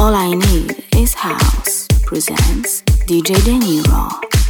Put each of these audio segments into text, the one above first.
All I Need Is House presents DJ De Niro.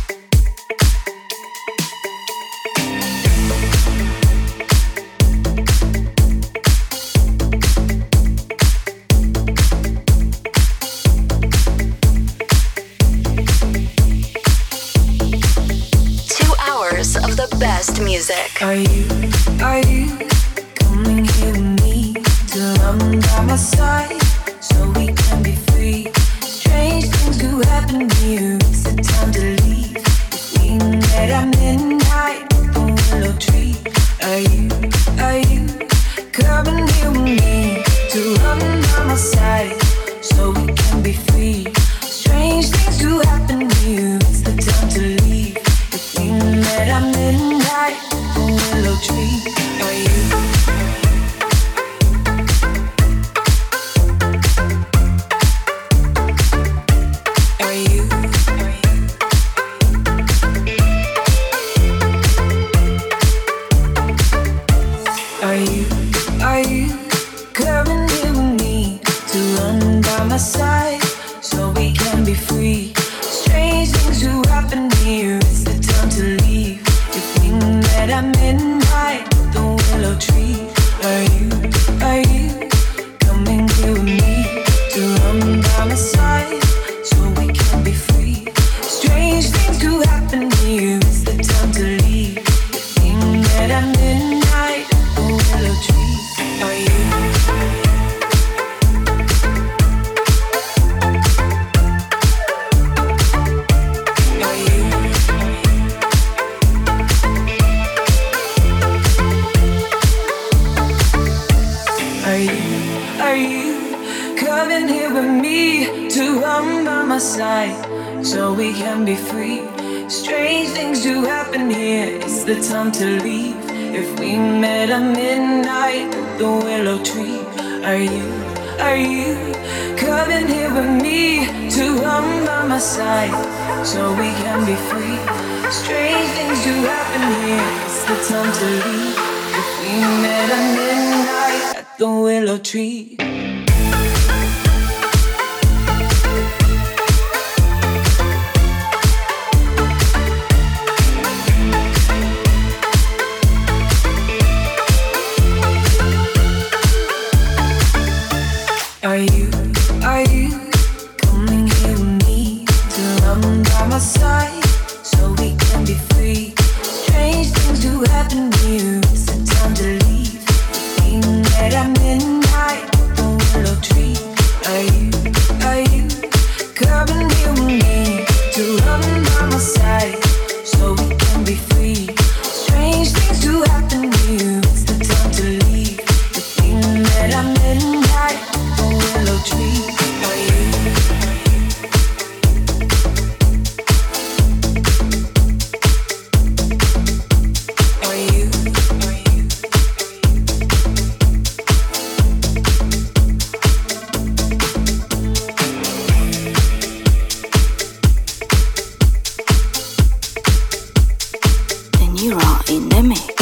Of the best music. Are you coming here with me to run by my side so we can be free? Strange things do happen to you. It's the time to leave. If we met at midnight, the willow tree. Are you coming here with me to run by my side so we can be free? Strange things do happen to you. It's the time to leave. We met at midnight, the willow tree. Are you? Are you? Are you coming here with me to run by my side so we can be free? Strange things do happen here. It's the time to leave. If we met at midnight, the willow tree. Are you coming here with me to run by my side so we can be free? Strange things do happen here. It's the time to leave. If we met at midnight, the willow tree. Are you? Are you coming here with me to run by my side so we can be free? Strange things do happen here. It's the time to leave. If we met at midnight, the willow tree. Are you coming here with me to run by my side so we can be free? Strange things do happen here. It's the time to leave. If we met at midnight at the willow tree. Are you coming here with me to run by my side so we can be free? Strange things do happen to you. It's the time to leave. We met at midnight, the willow tree. Are you coming here with me to run by my side so we can be free? Strange things do happen to you. It's the time to leave. If we met at midnight, the willow tree. Are you? In the mix.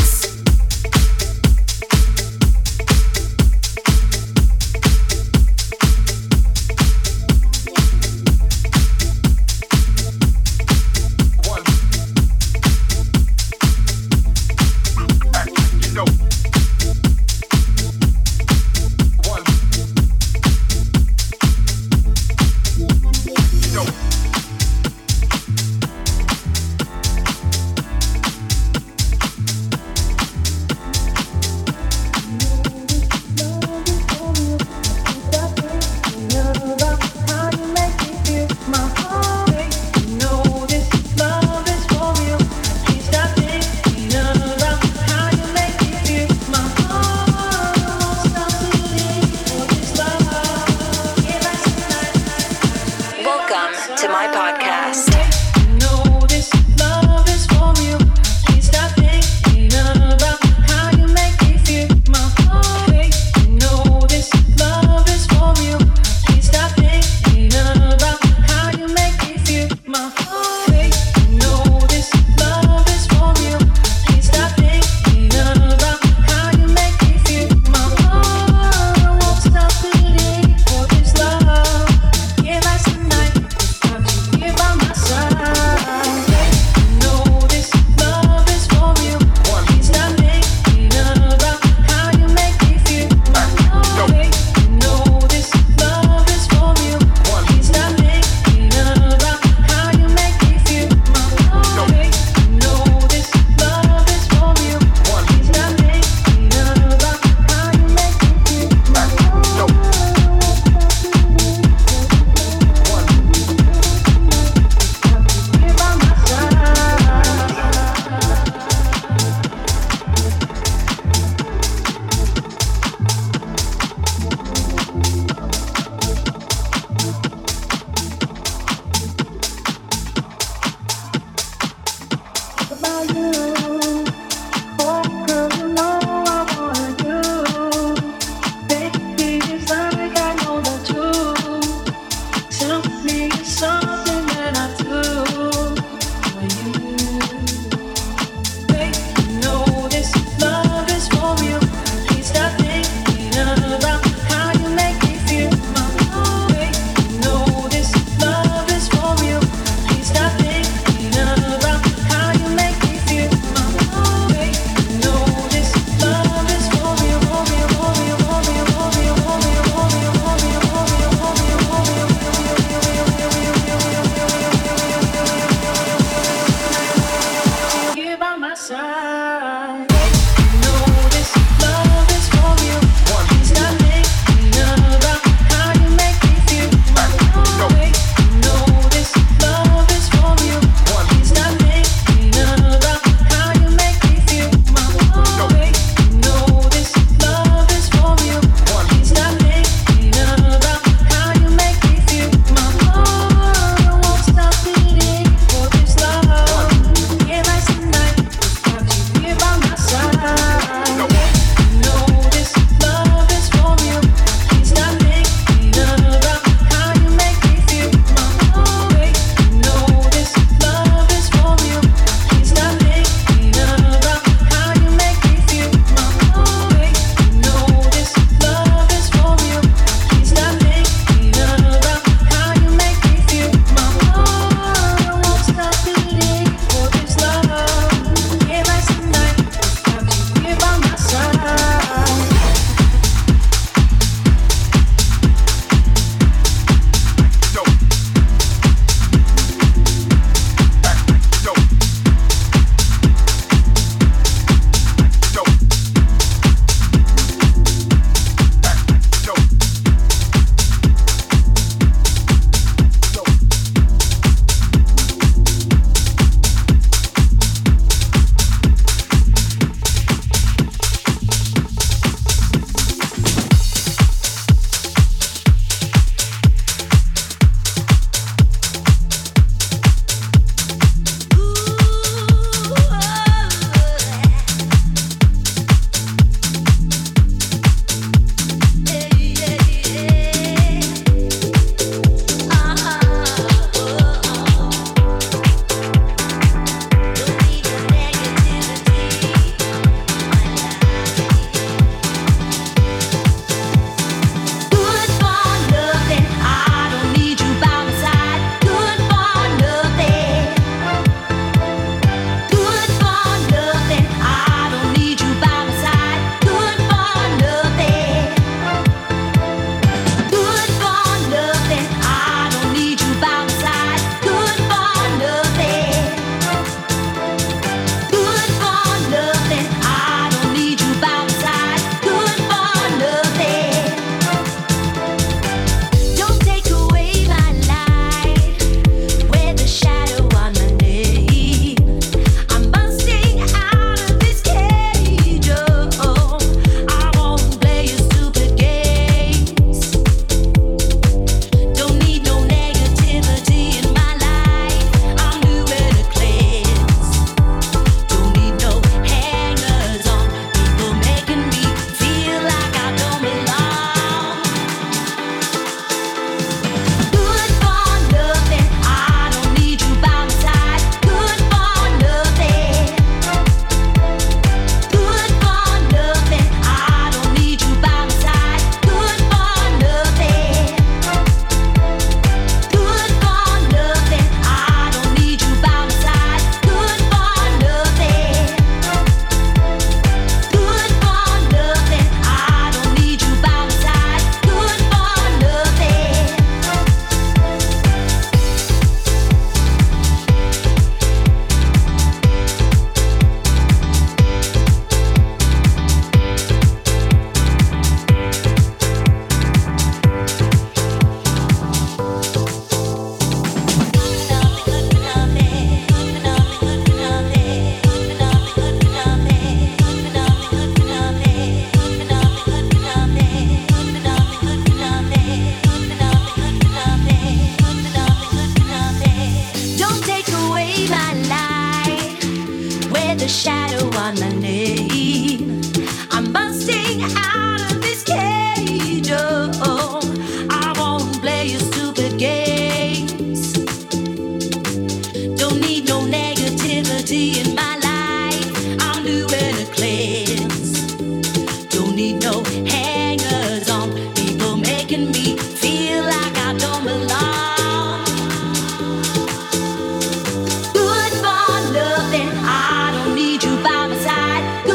Good for nothing, I don't need you by my side.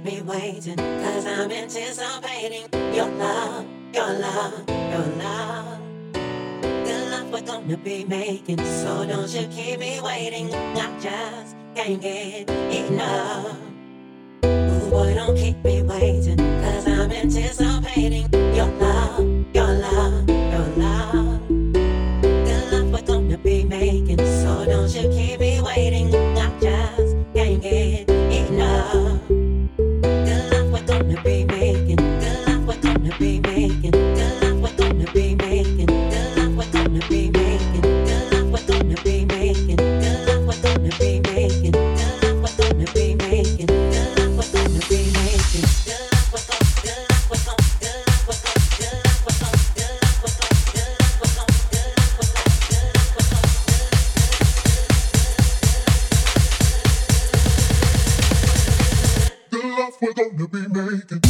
keep me waiting, 'cause I'm anticipating your love, your love, your love. The love we're gonna be making, so don't you keep me waiting. I just can't get enough. Ooh, boy, don't keep me waiting, 'cause I'm anticipating your love, your love, your love. The love we're gonna be making, so don't you keep me waiting. I just can't get enough. The love we're gonna be making, the love we're gonna be making, the love we're gonna be making, the love we're gonna be making, the love we're gonna be making, the love we're gonna be making, the love we're gonna be making, the love we're gonna be making, the love we're gonna, the love we're gonna, the love we're gonna, the love we're gonna, the love we're gonna, the love we're gonna, the love we're gonna, the love we're gonna. The love we're gonna be making.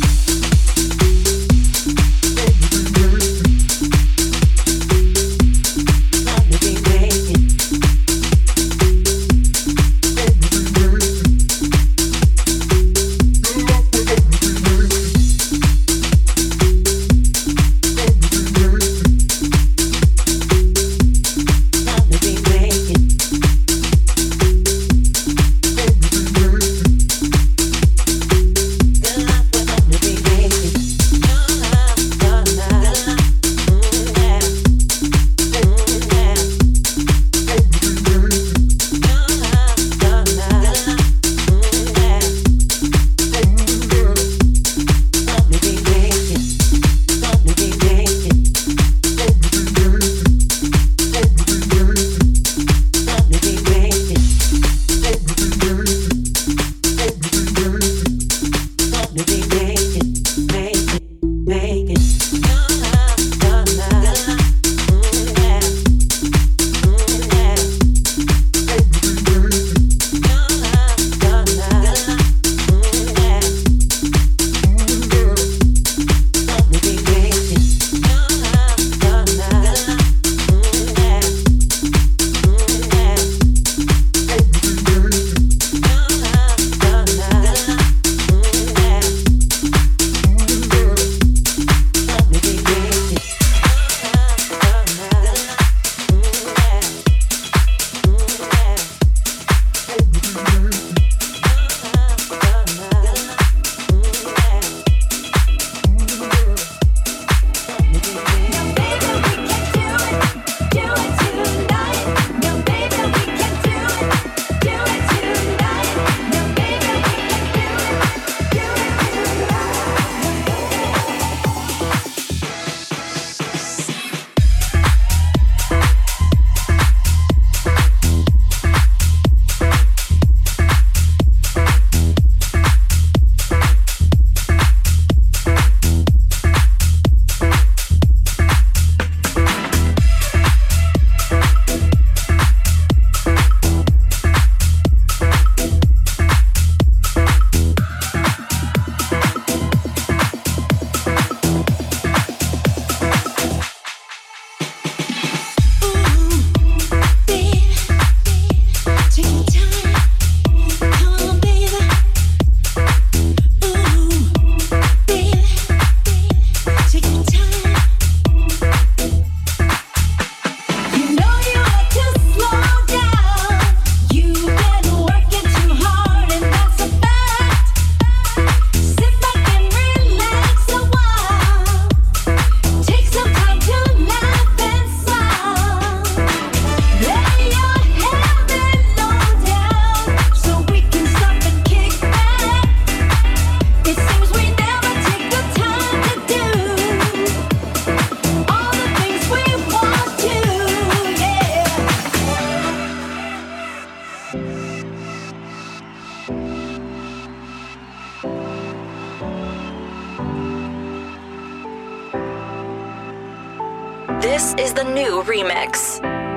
This is the new remix.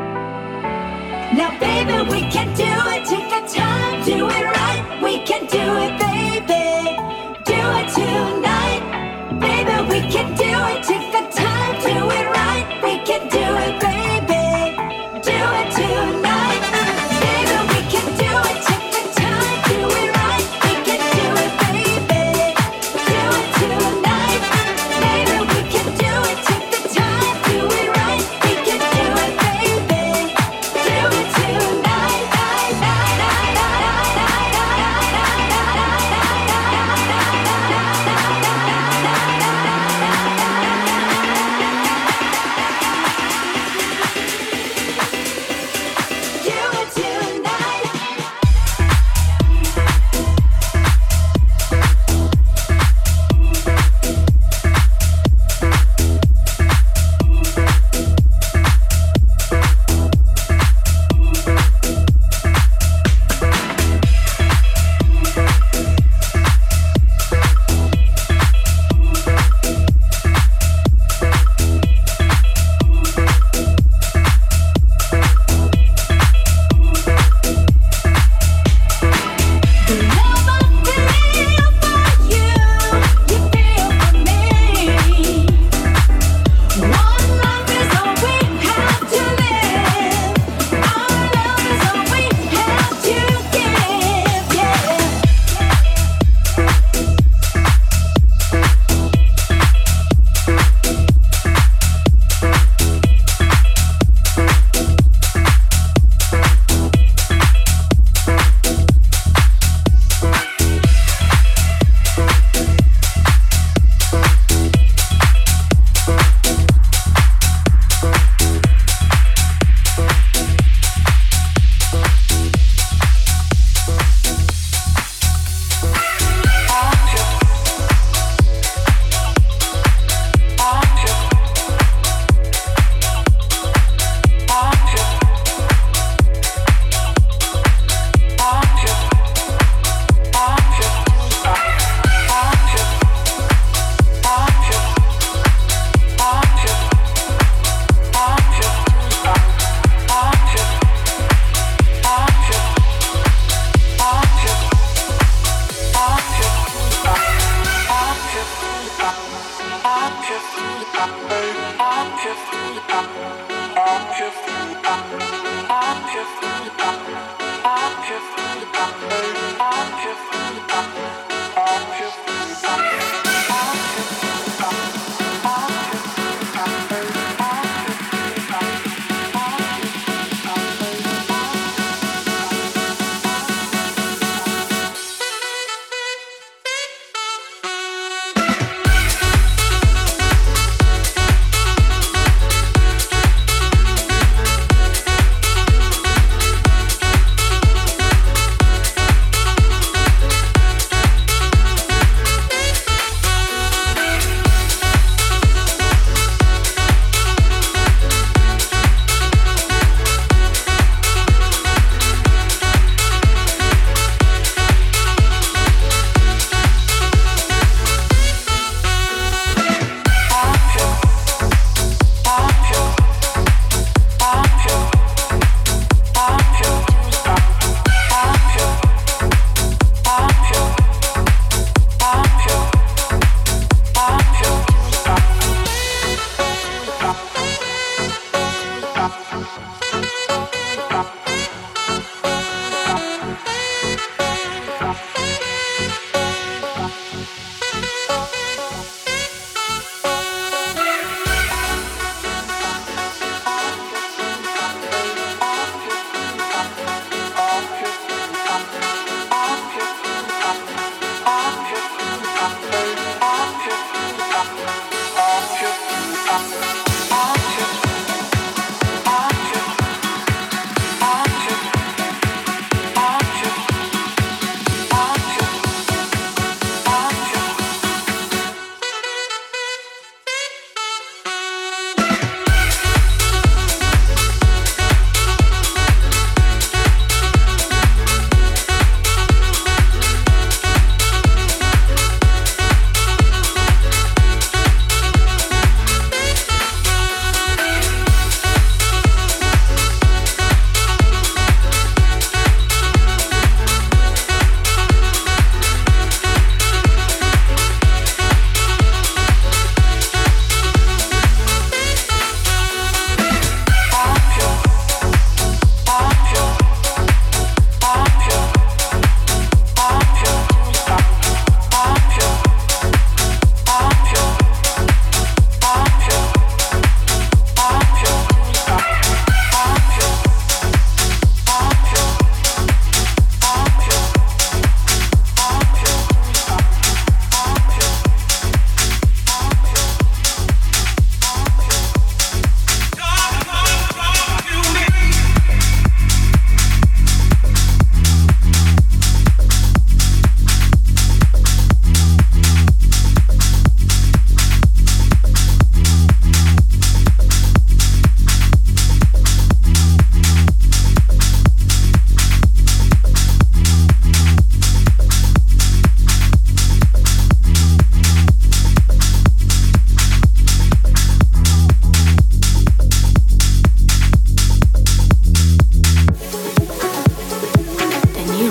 Now, baby, we can do it. Take the time, do it right. We can do it, baby. Do it tonight. Baby, we can do it. Take the time, do it right. We can do it, baby. Do it tonight. Baby, we can do it. Take the time, do it right. We can do it, baby.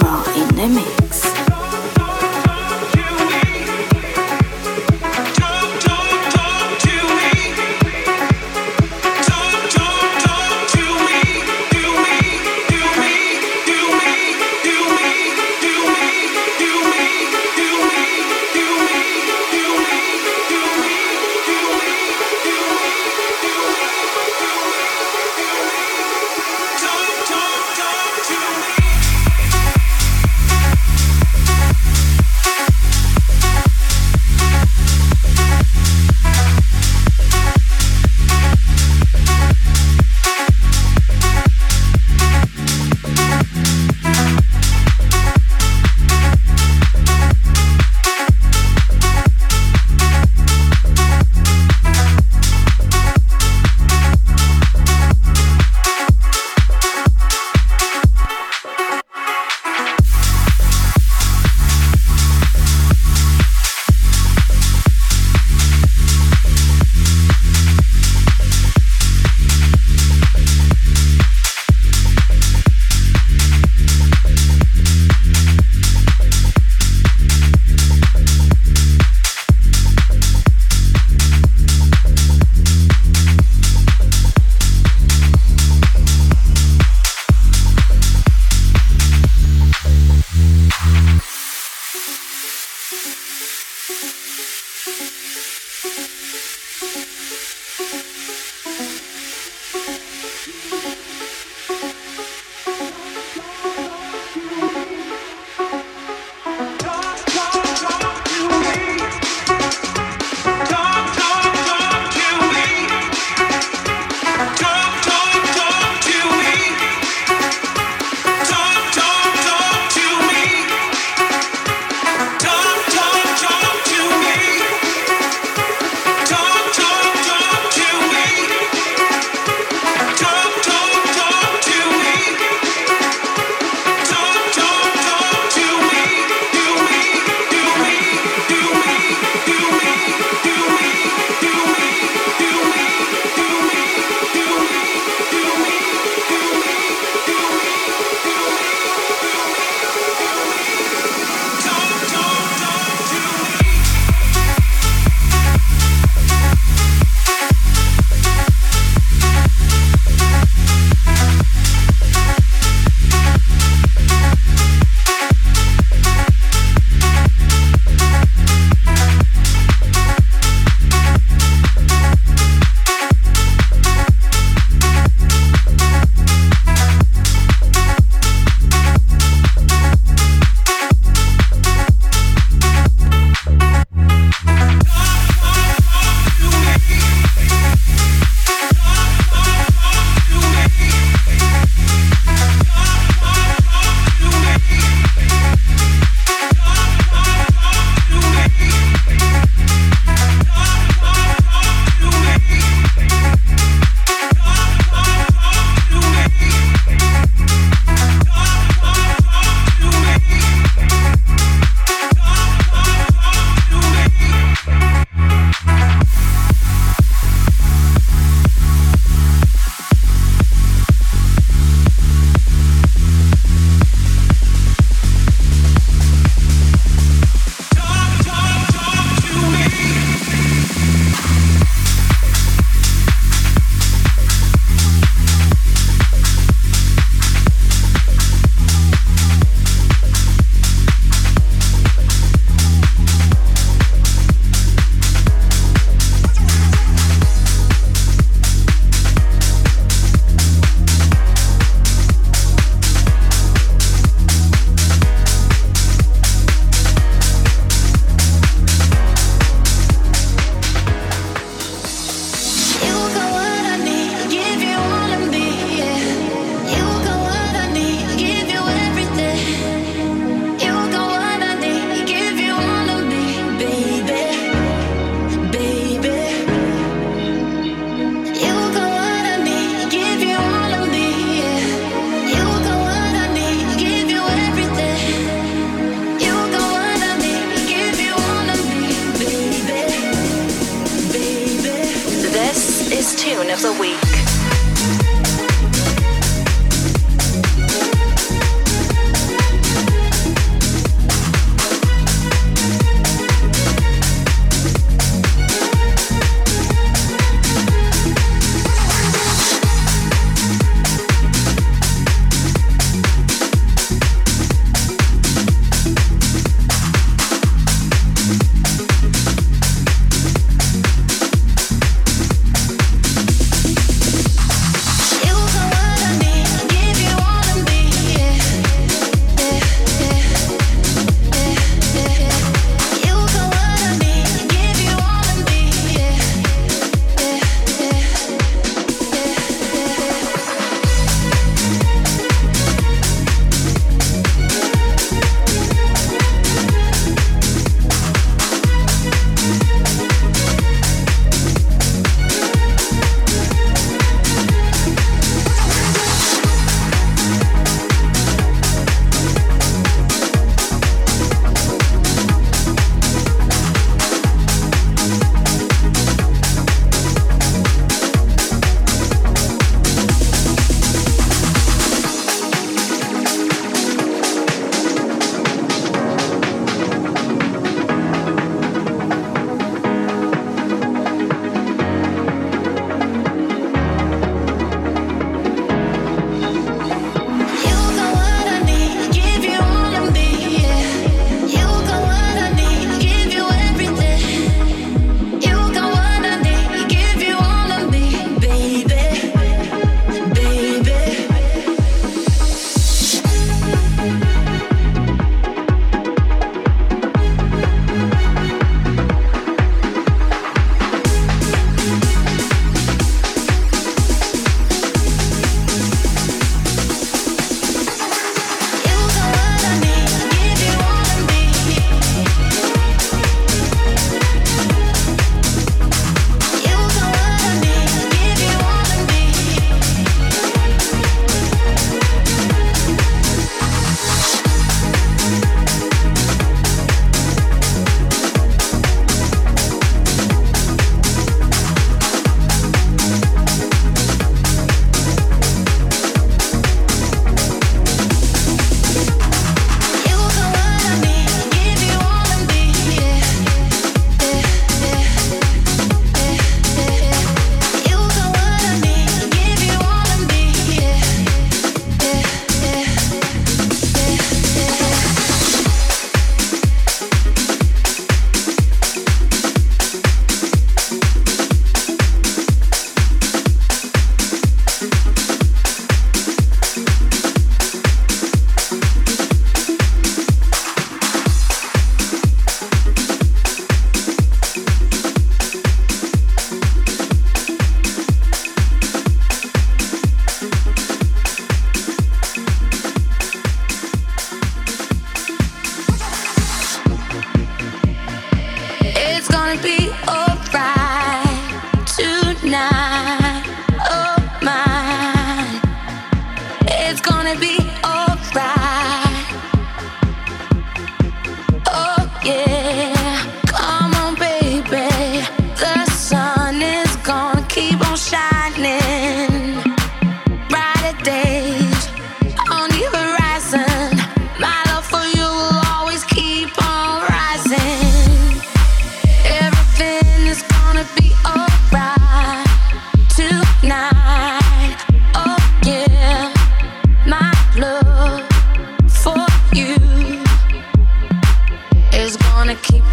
Niro in the mix.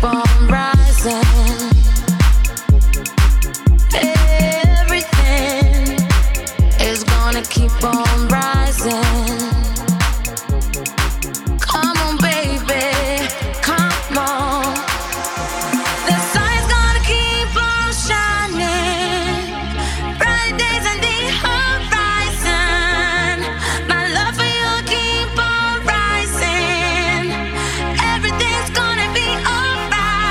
keep on rising. Everything is gonna keep on rising. Come on, baby, come on. The sun's gonna keep on shining. Bright days on the horizon. My love for you keep on rising. Everything's gonna be alright.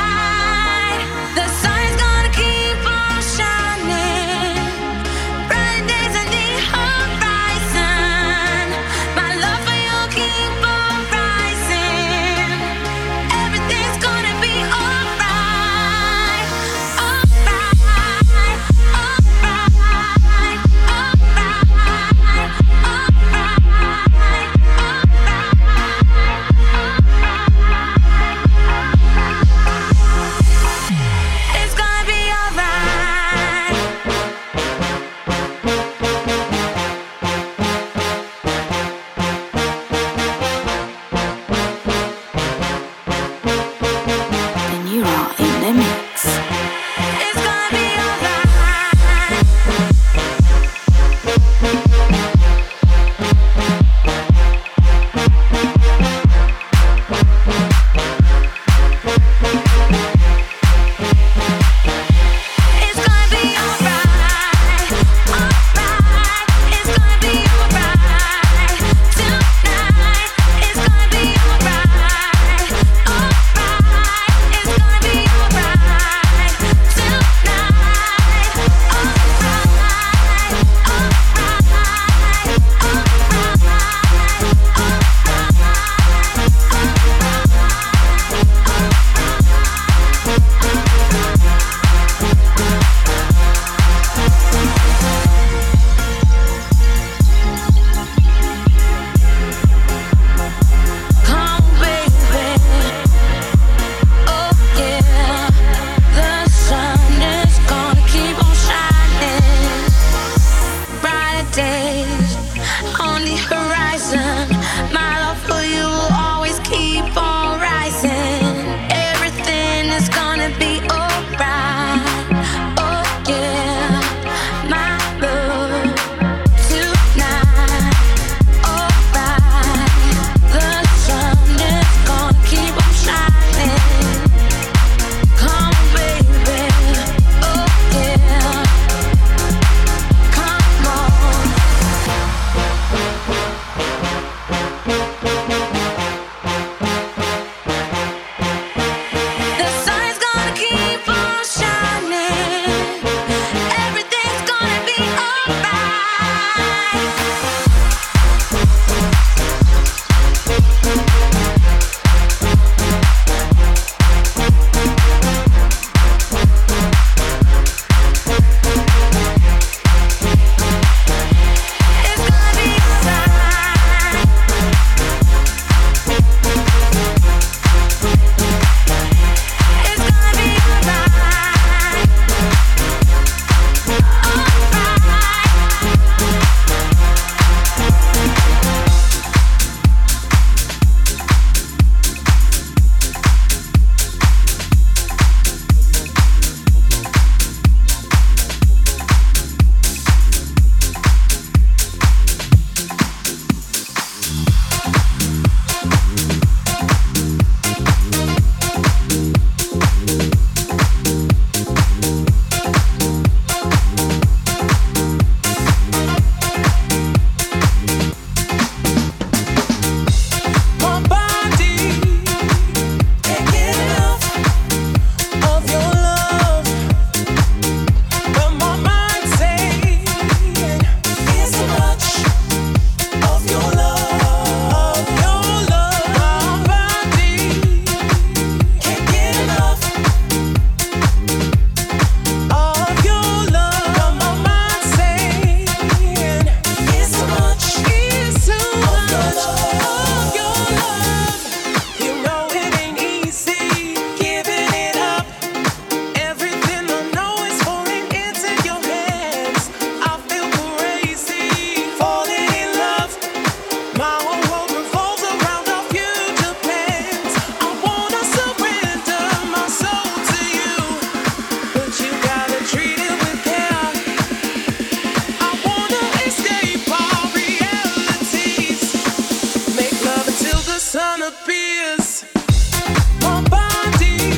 fears. My body,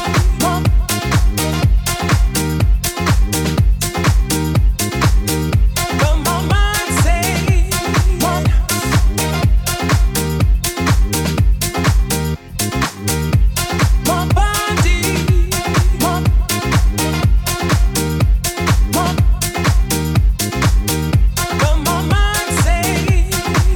but my mind say, my body, but my mind say,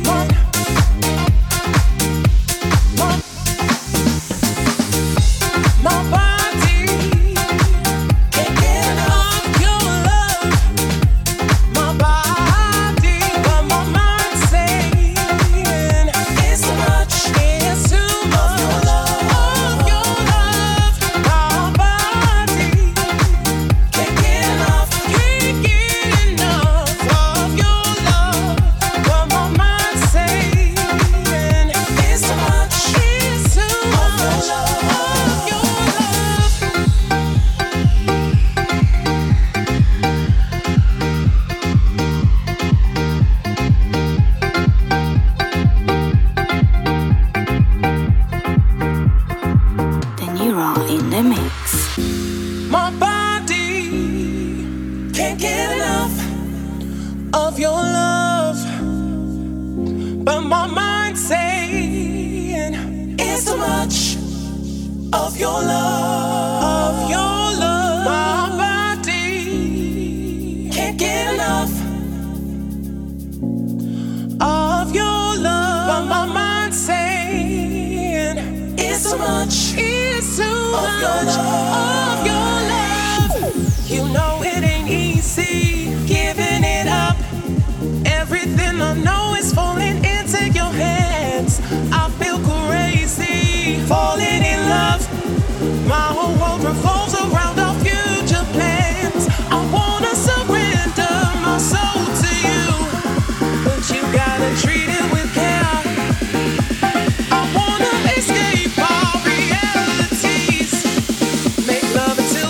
my body can't get enough of your love. My body, but my mind saying it's too much, it's too much of your love. My body can't get enough of your love. But my mind saying it's too much, it's too much of your love. De Niro in the mix. My body can't get enough of your love, but my mind saying it's too much of your love, of your love. My body can't get enough of your love, but my mind saying it's too much, it's too much of your love. You know it ain't easy giving it up. Everything I know is falling into your hands. I feel crazy, falling in love. My whole world revolves around our future plans. I wanna surrender my soul to you, but you gotta treat it with care. I wanna escape our realities, make love until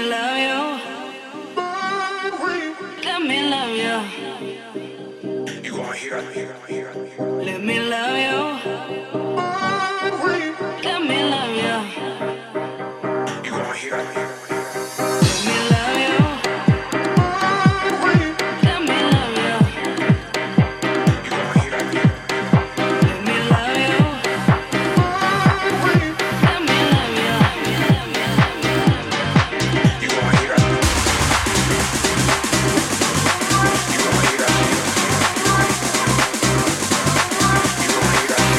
love you. Let me love you. You gonna hear it. Let me love you. Let me love you. You gonna hear it. Let me love you. Let me love you. You gonna hear it. Let me love you. Let me love you. You gonna hear it. You gonna hear it. You gonna hear it.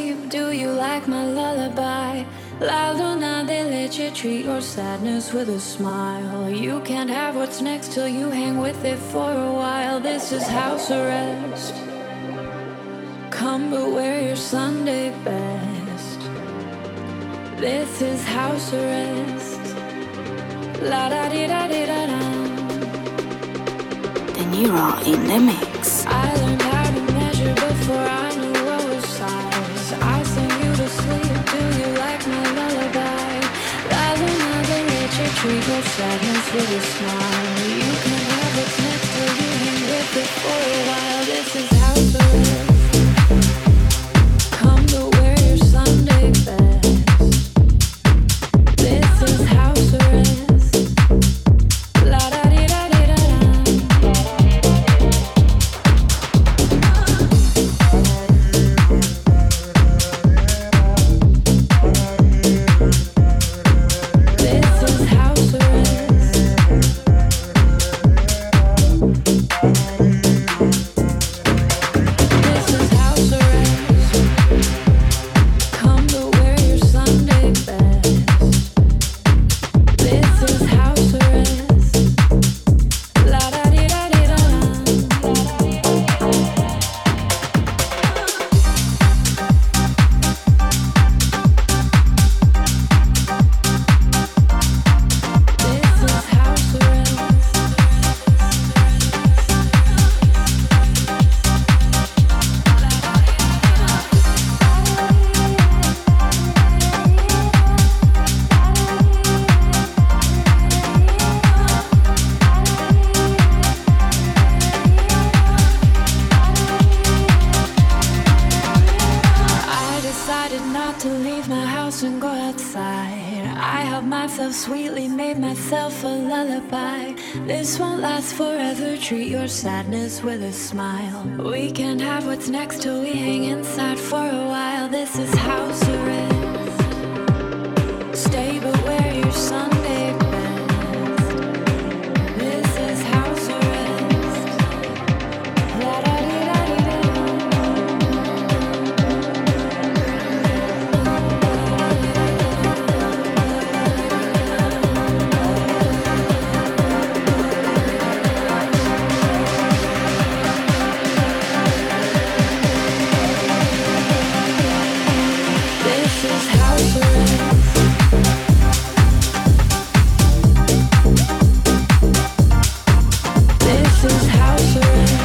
sleep? Do you like my lullaby? La Luna, they let you treat your sadness with a smile. You can't have what's next till you hang with it for a while. This is house arrest. Come but wear your Sunday best. This is house arrest. La da di da di da da. De Niro in the mix. I learned how to measure before I knew what was size. I sing you to sleep. Do you like my lullaby? La Luna, they let you treat your sadness with a smile. You can have what's next till you hang with it for a while. This is house arrest. Come to wear your Sunday best. This is house arrest. La da di da di da da. This is house arrest. This is house arrest. Come to wear your Sunday best. This is house arrest. La da di da di da da. This is house arrest. I decided not to leave my house and go outside. I helped myself sweetly, made myself a lullaby. This won't last forever, treat your sadness with a smile. We can't have what's next till we hang inside for a while. This is house arrest. Stay but wear your Sunday best. This is house arrest. La da di da di da. This is house arrest. This is house arrest.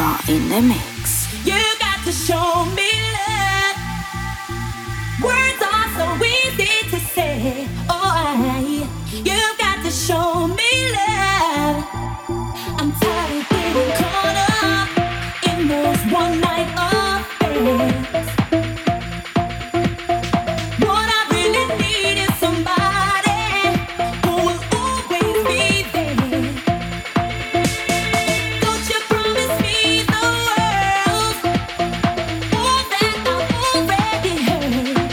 Janeiro in the mix. You got to show me love. Words are so easy to say. Oh, you got to show me love. I'm tired of getting caught up in those one night affairs. What I really need is somebody who will always be there. Don't you promise me the world, all that I've already heard.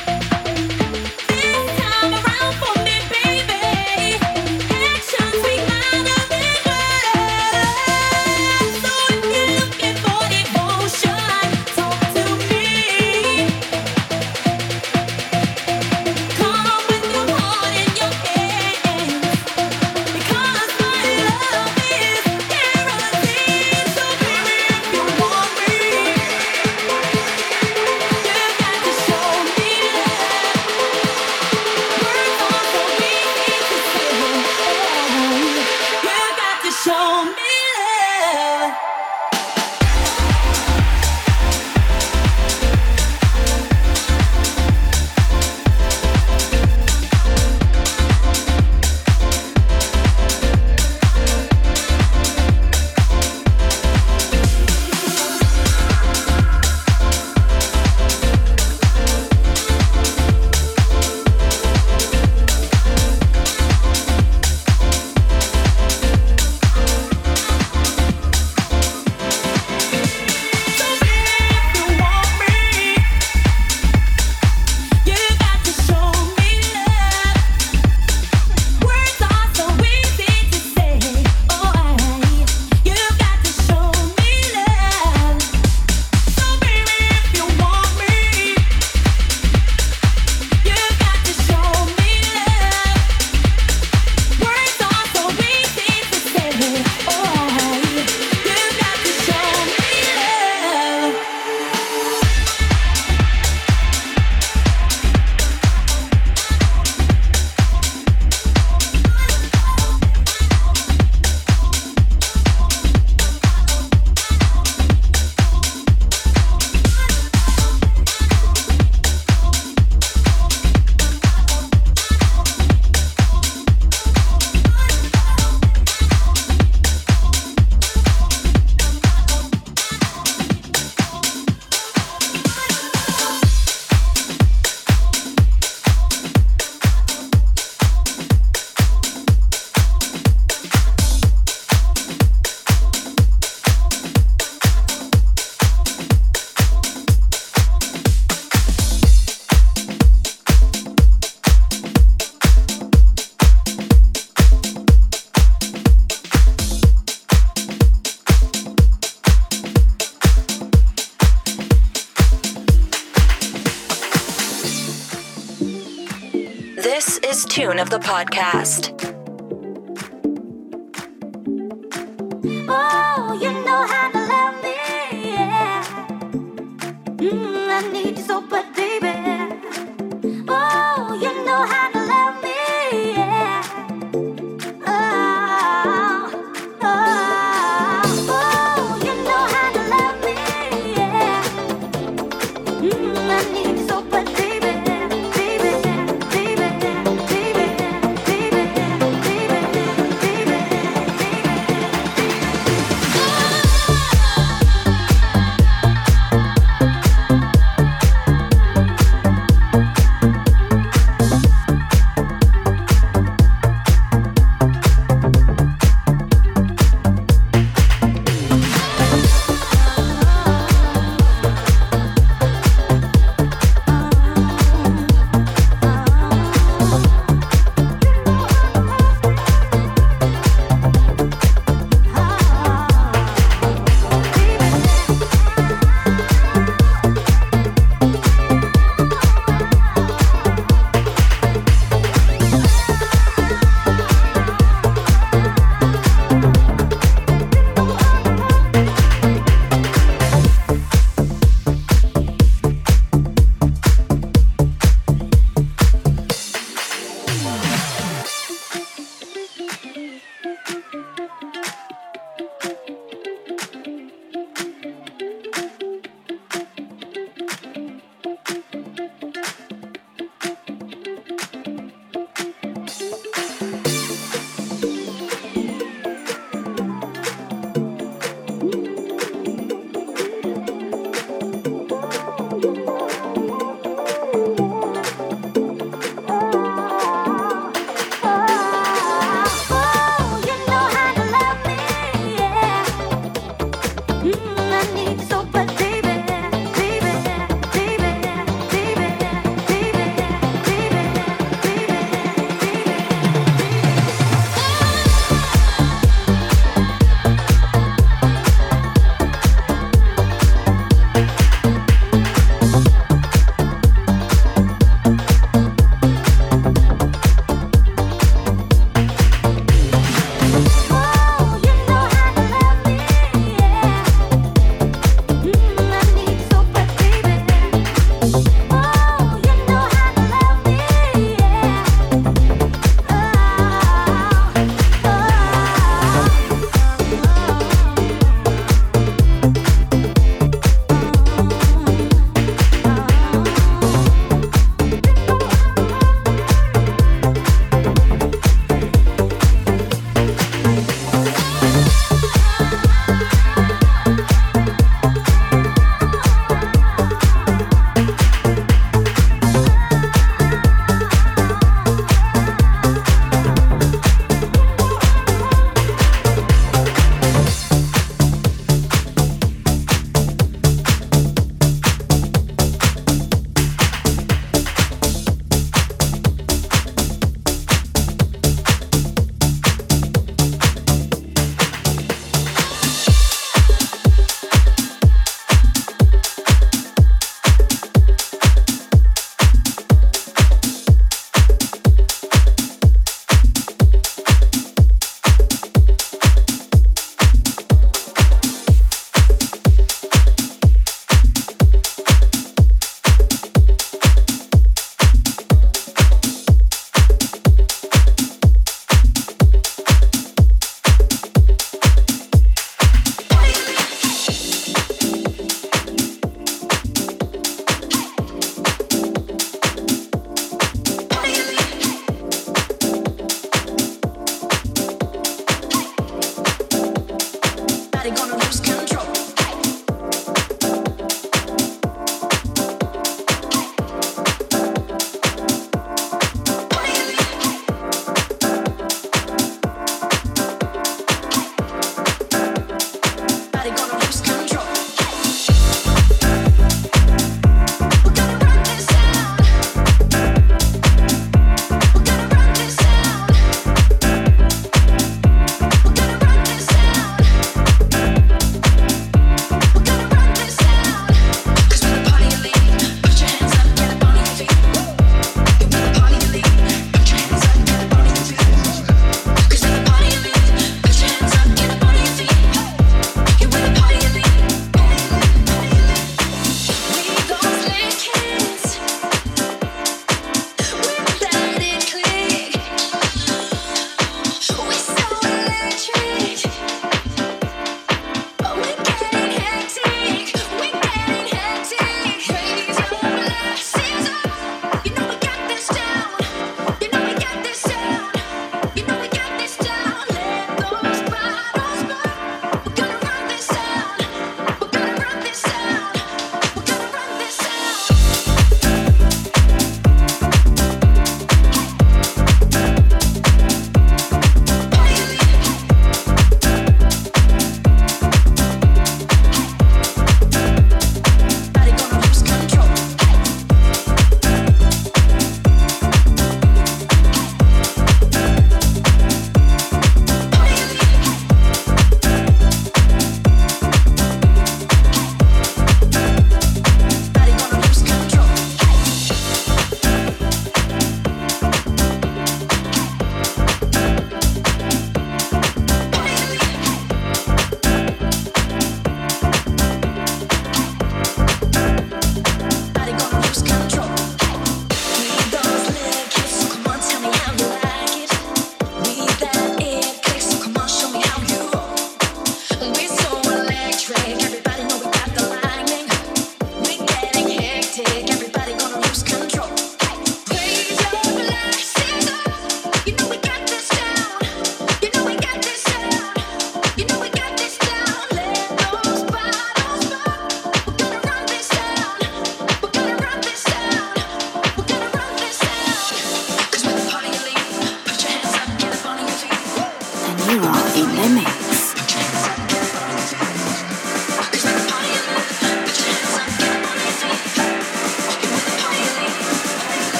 This time around for me, baby, actions speak louder than words. So if you're looking for devotion, talk to me. Come with your heart in your hands, because my love is guaranteed. So baby, if you want me, you got to show me love. Words are so easy to say. You got to show me love. This is Tune of the Podcast. Oh, you know how to love me, yeah. I need you so bad, baby. Oh, you know how to love me, yeah. Oh, you know how to love me, yeah. I need you so bad, baby, baby, baby, baby, baby.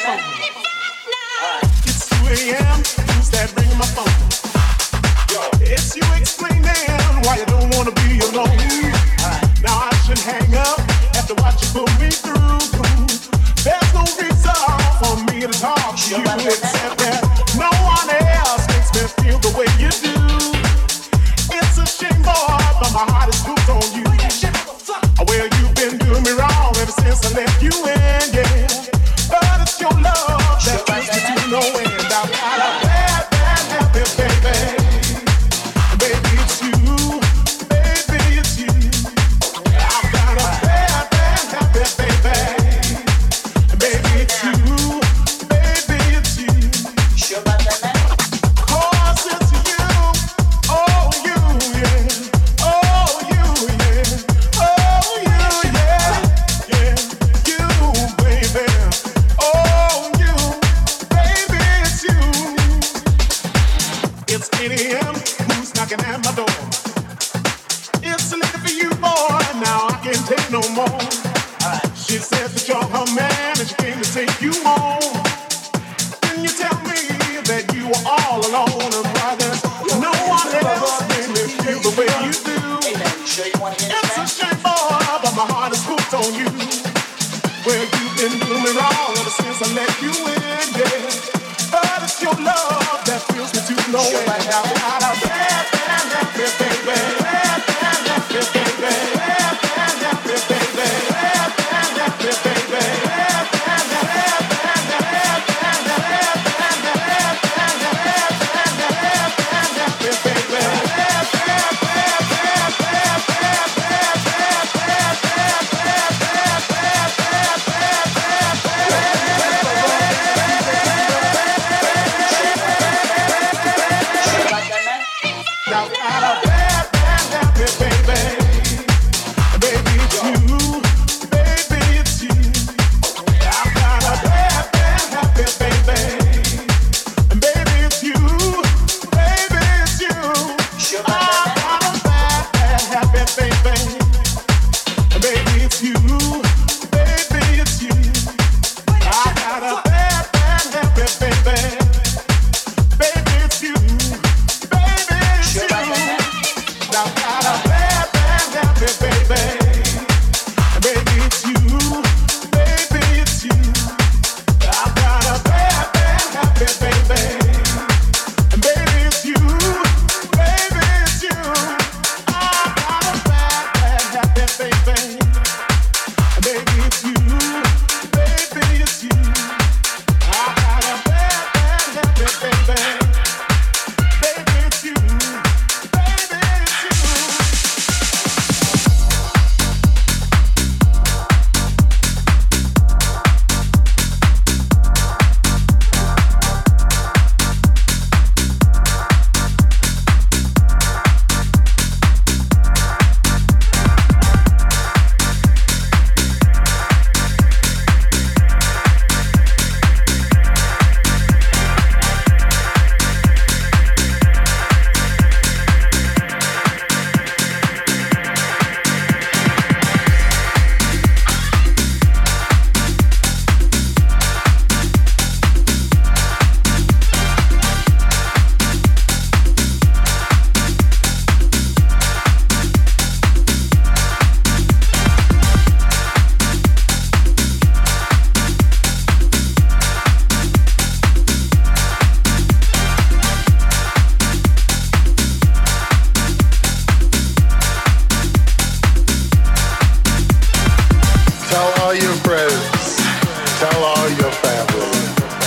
phone? It's 2 a.m. Who's that ringing my phone? It's you explaining why you don't wanna be alone. Now I should hang up after what you put me through. There's no reason for me to talk to you except that no one else makes me feel the way you do. It's a shame, boy, but my heart is hooked on you. Well, you've been doing me wrong ever since I left you in, yeah. But it's your love that brings me to no end. I've got a bad, bad habit, baby. Baby, it's you. Baby, it's you. I've got a bad, bad habit, baby. Baby, it's you. Baby, it's you. Cause it's you. Oh, you, yeah. Oh, you, yeah. Oh, you, yeah. Yeah. You, baby. Oh, you. Baby, it's you. It's 8 a.m. Who's knocking at my door? It's late for you, boy. Now I can't take no more. She said that you're her man and she came to take you home. Then you tell me that you were all alone and why there's no one else made me feel the way you do. It's a shame, boy, but my heart is hooked on you. Well, you've been doing me wrong ever since I let you in, yeah. But it's your love that feels me to no end. I've got a bad, bad habit, baby. Bad, bad habit, baby. Bad, bad habit, baby. Bad, bad habit, baby. Bad, bad habit, bad, bad, bad, bad, bad, bad, bad, bad, bad habit, baby. Bad, bad, bad, bad, bad, bad, bad, bad, bad, I've got a bad, bad habit, baby. Baby, it's you. Baby, it's you. I've got a bad, bad habit, baby. Baby, it's you. Baby, it's you. I've got a bad, bad habit, baby. Baby, it's you. Baby, it's you. I've got a bad, bad habit, baby. Baby, it's you. Baby, it's you. I've got a bad, bad habit, baby. Baby, it's you. Baby, it's you. I've got a bad, bad habit, baby. Baby, it's you. Baby, it's you. I've got a bad, bad habit, baby. Baby, it's you. Baby, it's you. I've got a bad, bad habit, baby. Baby, it's you. Baby, it's you. Tell all your friends, tell all your family.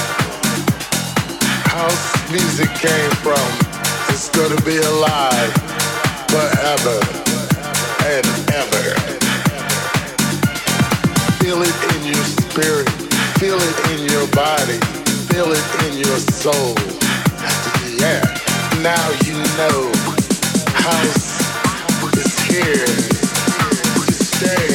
House music came from, it's gonna be alive forever and ever. Feel it in your spirit, feel it in your body, feel it in your soul. Yeah, now you know house is here to stay.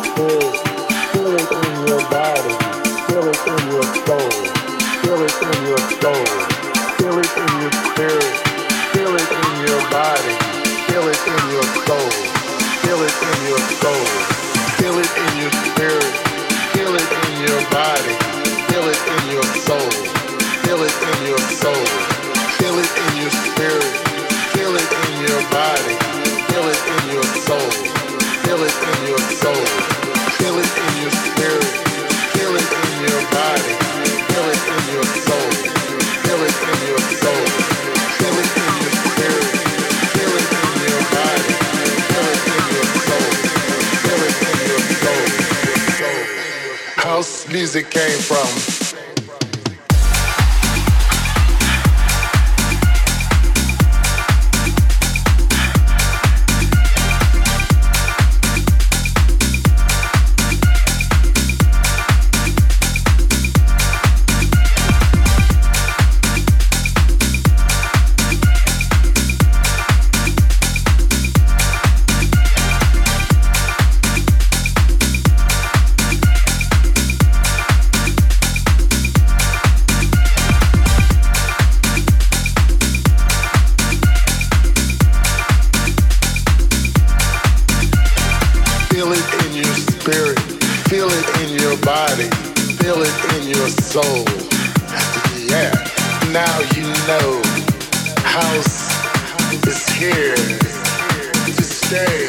spirit, feel it in your body, feel it in your soul, feel it in your soul, feel it in your spirit, feel it in your body, feel it in your soul, feel it in your soul, feel it in your spirit, feel it in your body, feel it in your soul, feel it in your soul, feel it in your spirit, feel it in your body, feel it in your soul, feel it in your soul, feel it in your spirit, feel it in your body, feel it in your soul, feel it in your soul, feel it in your spirit, feel it in your body, feel it in your soul, feel it in your soul. House music came from soul. Yeah, now you know house is here to stay.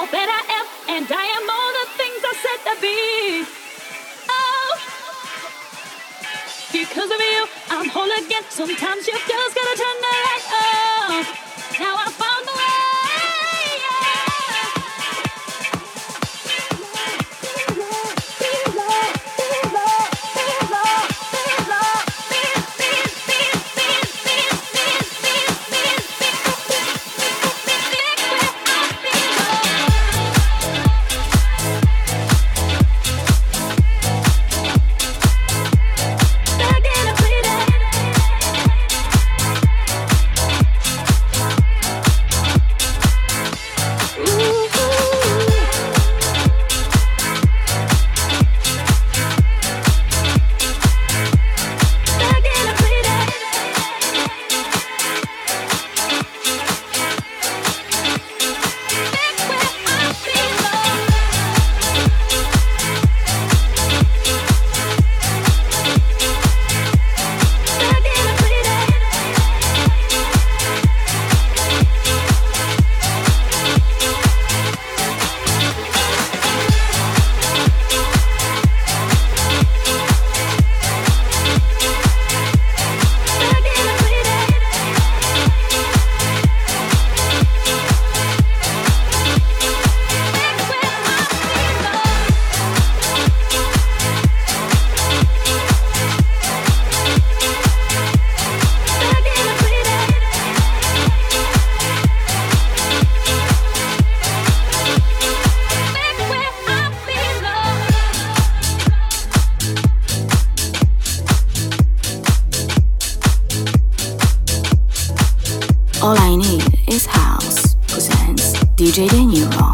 that I am, and I am all the things I said to be. Oh, because of you, I'm whole again. Sometimes you just gotta turn the light off. Now I found the way. All I Need Is House presents DJ De Niro.